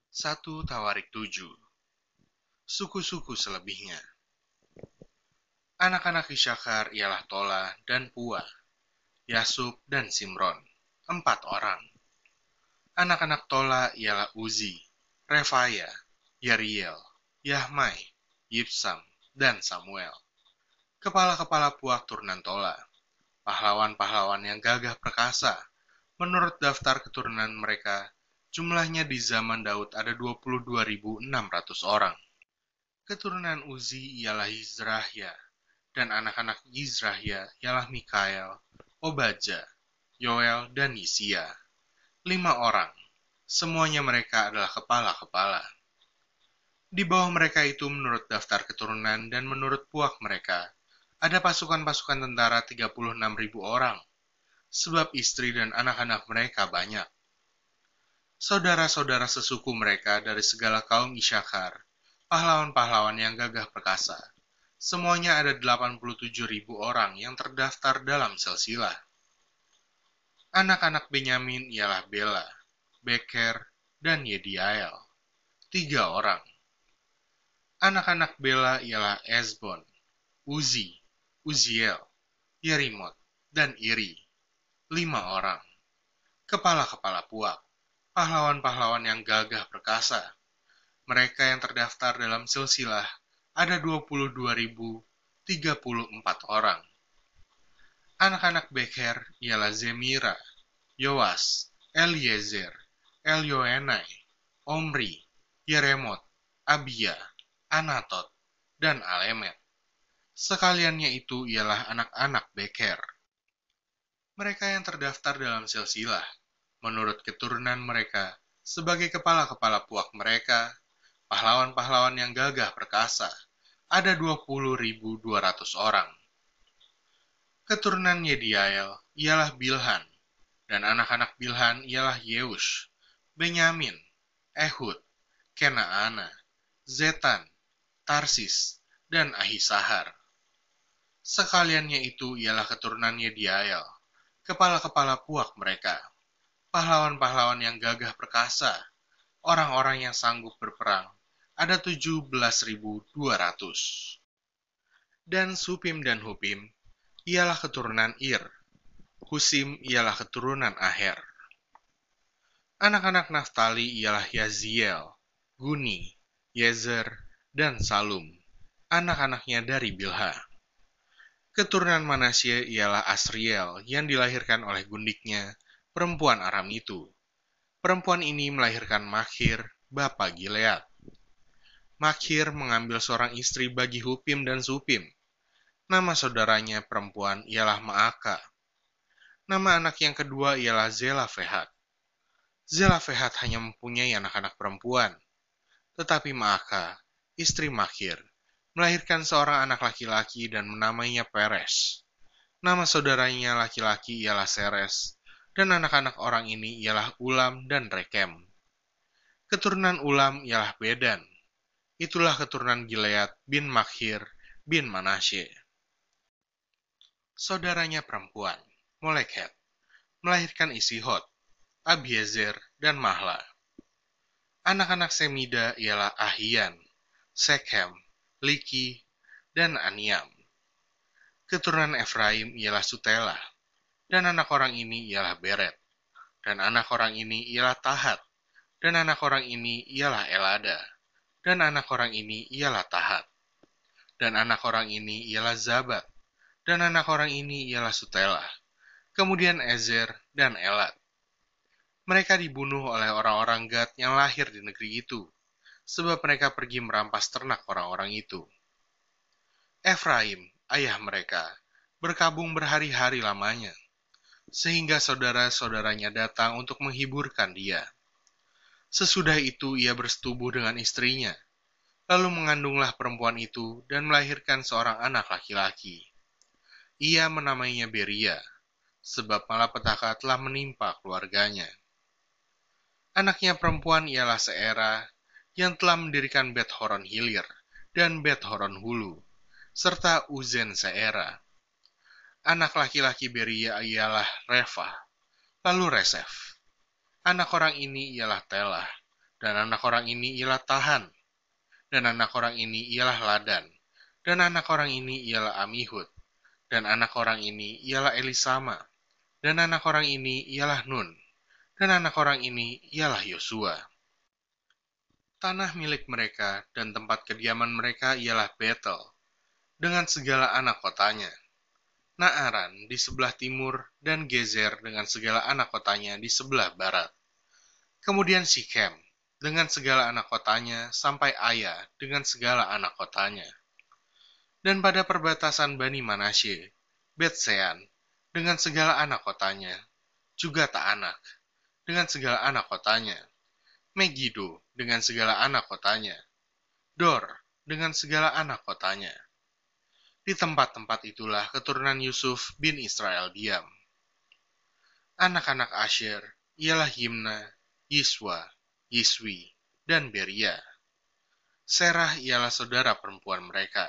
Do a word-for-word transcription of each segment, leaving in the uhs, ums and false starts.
Satu Tawarik tujuh. Suku-suku selebihnya. Anak-anak Isakar ialah Tola dan Pua, Yasub dan Simron, empat orang. Anak-anak Tola ialah Uzi, Refaya, Yeriel, Yahmai, Yipsam, dan Samuel. Kepala-kepala Puak turunan Tola, pahlawan-pahlawan yang gagah perkasa. Menurut daftar keturunan mereka, jumlahnya di zaman Daud ada dua puluh dua ribu enam ratus orang. Keturunan Uzi ialah Yizrahya, dan anak-anak Yizrahya ialah Mikael, Obadja, Yoel, dan Yisia. Lima orang. Semuanya mereka adalah kepala-kepala. Di bawah mereka itu menurut daftar keturunan dan menurut puak mereka, ada pasukan-pasukan tentara tiga puluh enam ribu orang, sebab istri dan anak-anak mereka banyak. Saudara-saudara sesuku mereka dari segala kaum Isakar, pahlawan-pahlawan yang gagah perkasa, semuanya ada delapan puluh tujuh ribu orang yang terdaftar dalam silsilah. Anak-anak Benyamin ialah Bela, Beker, dan Yediael, tiga orang. Anak-anak Bela ialah Ezbon, Uzi, Uziel, Yerimot, dan Iri, lima orang. Kepala-kepala puak, pahlawan-pahlawan yang gagah perkasa. Mereka yang terdaftar dalam silsilah ada dua puluh dua ribu tiga puluh empat orang. Anak-anak Beker ialah Zemira, Yoas, Eliezer, Elyoenai, Omri, Yeremot, Abia, Anatot, dan Alemet. Sekaliannya itu ialah anak-anak Beker. Mereka yang terdaftar dalam silsilah, menurut keturunan mereka, sebagai kepala-kepala puak mereka, pahlawan-pahlawan yang gagah perkasa, ada dua puluh ribu dua ratus orang. Keturunan Yediael ialah Bilhan, dan anak-anak Bilhan ialah Yeush, Benyamin, Ehud, Kenaana, Zetan, Tarsis, dan Ahisahar. Sekaliannya itu ialah keturunan Yediael, kepala-kepala puak mereka, pahlawan-pahlawan yang gagah perkasa, orang-orang yang sanggup berperang, ada tujuh belas ribu dua ratus. Dan Supim dan Hupim ialah keturunan Ir, Husim ialah keturunan Aher. Anak-anak Naftali ialah Yaziel, Guni, Yezer, dan Salum, anak-anaknya dari Bilha. Keturunan Manasye ialah Asriel yang dilahirkan oleh gundiknya, perempuan Aram itu. Perempuan ini melahirkan Makhir, bapa Gilead. Makhir mengambil seorang istri bagi Hupim dan Supim. Nama saudaranya perempuan ialah Maaka. Nama anak yang kedua ialah Zelafehat. Zelafehat hanya mempunyai anak-anak perempuan. Tetapi Maaka, istri Makhir, melahirkan seorang anak laki-laki dan menamainya Peres. Nama saudaranya laki-laki ialah Seres, dan anak-anak orang ini ialah Ulam dan Rekem. Keturunan Ulam ialah Bedan. Itulah keturunan Gilead bin Makhir bin Manasye. Saudaranya perempuan, Molekhet, melahirkan Isihot, Abiezer, dan Mahla. Anak-anak Semida ialah Ahian, Sekhem, Liki, dan Aniam. Keturunan Efraim ialah Sutela, dan anak orang ini ialah Beret, dan anak orang ini ialah Tahat, dan anak orang ini ialah Elada, dan anak orang ini ialah Tahat, dan anak orang ini ialah Zabat, dan anak orang ini ialah Sutela, kemudian Ezer dan Elad. Mereka dibunuh oleh orang-orang Gad yang lahir di negeri itu, sebab mereka pergi merampas ternak orang-orang itu. Efraim, ayah mereka, berkabung berhari-hari lamanya, sehingga saudara-saudaranya datang untuk menghiburkan dia. Sesudah itu ia bersetubuh dengan istrinya, lalu mengandunglah perempuan itu dan melahirkan seorang anak laki-laki. Ia menamainya Beria, sebab malapetaka telah menimpa keluarganya. Anaknya perempuan ialah Seera, yang telah mendirikan Bet Horon Hilir dan Bet Horon Hulu, serta Uzen Seera. Anak laki-laki Beria ialah Reva, lalu Resef. Anak orang ini ialah Telah, dan anak orang ini ialah Tahan, dan anak orang ini ialah Ladan, dan anak orang ini ialah Amihud, dan anak orang ini ialah Elisama, dan anak orang ini ialah Nun, dan anak orang ini ialah Yosua. Tanah milik mereka dan tempat kediaman mereka ialah Betel, dengan segala anak kotanya, Naaran di sebelah timur, dan Gezer dengan segala anak kotanya di sebelah barat. Kemudian Sikhem dengan segala anak kotanya sampai Aya dengan segala anak kotanya. Dan pada perbatasan Bani Manasye, Betsean dengan segala anak kotanya, juga Taanak dengan segala anak kotanya, Megido dengan segala anak kotanya, Dor dengan segala anak kotanya. Di tempat-tempat itulah keturunan Yusuf bin Israel diam. Anak-anak Asher ialah Yimna, Yiswa, Yiswi, dan Beria. Serah ialah saudara perempuan mereka.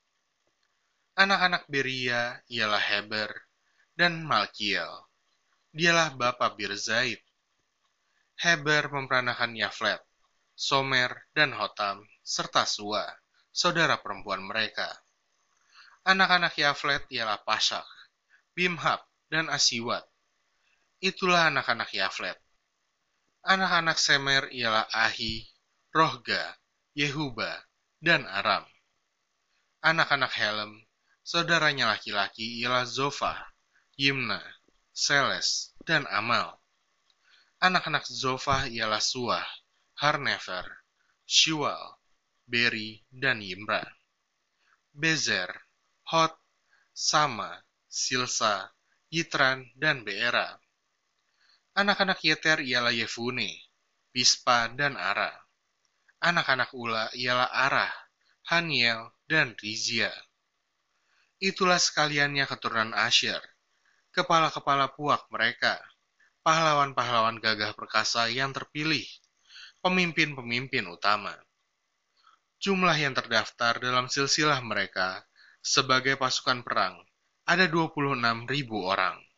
Anak-anak Beria ialah Heber dan Malkiel. Dialah bapa Birzaid. Heber memperanakan Yaflet, Somer, dan Hotam, serta Sua, saudara perempuan mereka. Anak-anak Yaflet ialah Pasak, Bimhab, dan Asiwat. Itulah anak-anak Yaflet. Anak-anak Semer ialah Ahi, Rohga, Yehuba, dan Aram. Anak-anak Helem, saudaranya laki-laki ialah Zofa, Yimna, Seles, dan Amal. Anak-anak Zofa ialah Suah, Harnefer, Shual, Beri, dan Yimra. Bezer, Hot, Sama, Silsa, Yitran, dan Beera. Anak-anak Yeter ialah Yefune, Pispa, dan Ara. Anak-anak Ula ialah Arah, Haniel, dan Rizia. Itulah sekaliannya keturunan Asher, kepala-kepala puak mereka, pahlawan-pahlawan gagah perkasa yang terpilih, pemimpin-pemimpin utama. Jumlah yang terdaftar dalam silsilah mereka sebagai pasukan perang ada dua puluh enam ribu orang.